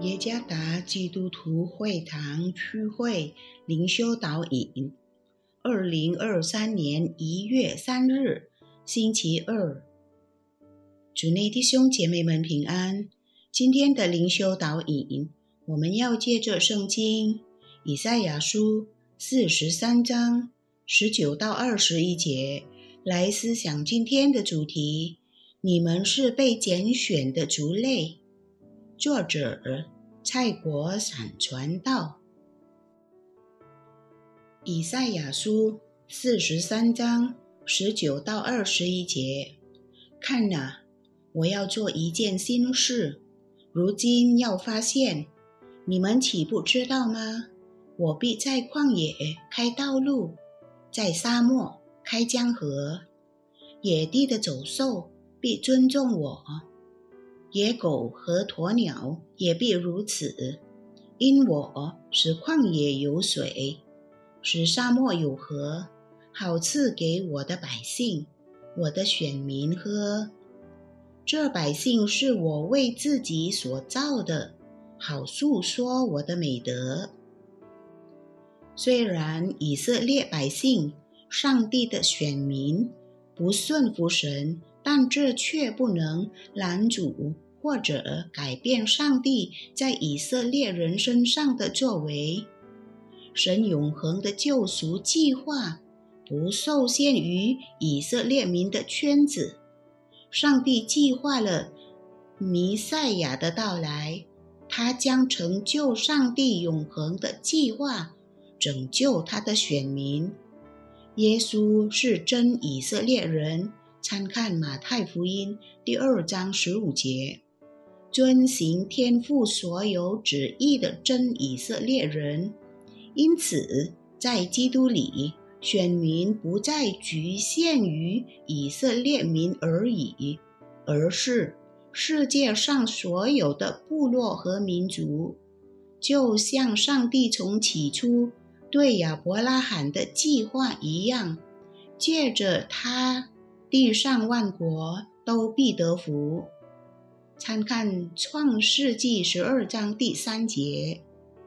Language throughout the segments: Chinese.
耶加达基督徒会堂区会灵修导引，2023年1月3日，星期二。主内弟兄姐妹们平安。今天的灵修导引，我们要借着圣经以赛亚书43章19到21节来思想今天的主题：你们是被拣选的族类。作者蔡国闪传道。以赛亚书43章19到21节，看哪，我要做一件新事，如今要发现，你们岂不知道吗？我必在旷野开道路，在沙漠开江河，野地的走兽必尊重我，野狗和鸵鸟也必如此，因我使旷野有水，使沙漠有河，好赐给我的百姓，我的选民喝。这百姓是我为自己所造的，好述说我的美德。虽然以色列百姓，上帝的选民，不顺服神，但这却不能拦阻或者改变上帝在以色列人身上的作为。神永恒的救赎计划不受限于以色列民的圈子。上帝计划了弥赛亚的到来，他将成就上帝永恒的计划，拯救他的选民。耶稣是真以色列人，参看马太福音2章15节。遵行天父所有旨意的真以色列人。因此，在基督里，选民不再局限于以色列民而已，而是世界上所有的部落和民族。就像上帝从起初对亚伯拉罕的计划一样，借着他，地上万国都必得福。参看创世纪12章第3节。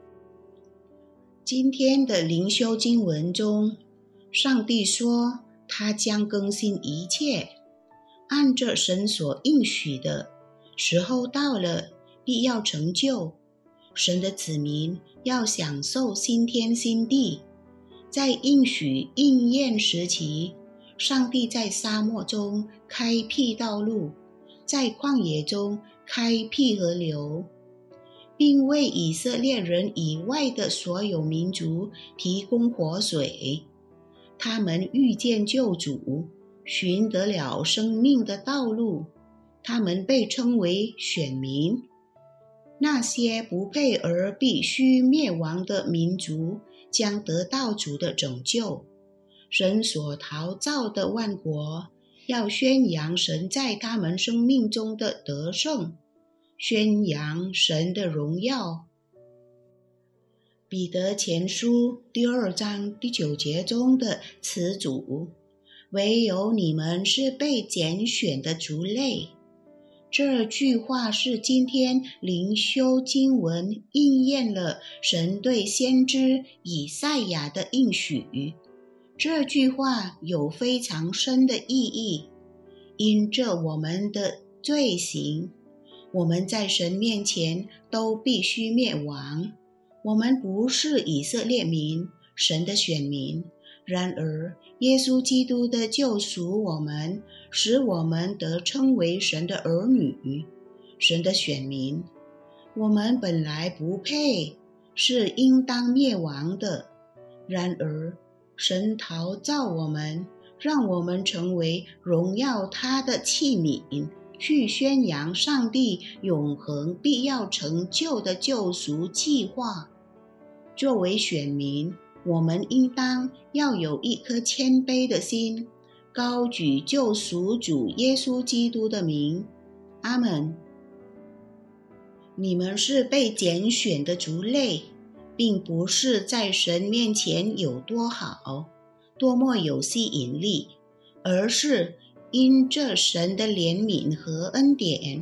今天的灵修经文中，上帝说他将更新一切，按着神所应许的，时候到了，必要成就。神的子民要享受新天新地。在应许应验时期，上帝在沙漠中开辟道路，在旷野中开辟河流，并为以色列人以外的所有民族提供活水。他们遇见救主，寻得了生命的道路。他们被称为选民。那些不配而必须灭亡的民族将得到主的拯救。神所陶造的万国要宣扬神在他们生命中的得胜，宣扬神的荣耀。彼得前书2章第9节中的词组，唯有你们是被拣选的族类。这句话是今天灵修经文应验了神对先知以赛亚的应许。这句话有非常深的意义，因着我们的罪行，我们在神面前都必须灭亡。我们不是以色列民，神的选民。然而，耶稣基督的救赎我们，使我们得称为神的儿女，神的选民。我们本来不配，是应当灭亡的。然而，神陶造我们，让我们成为荣耀他的器皿，去宣扬上帝永恒必要成就的救赎计划。作为选民，我们应当要有一颗谦卑的心，高举救赎主耶稣基督的名。阿们。你们是被拣选的族类，并不是在神面前有多好，多么有吸引力，而是因着神的怜悯和恩典，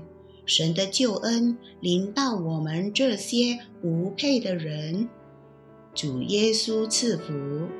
神的救恩临到我们这些无配的人。主耶稣赐福。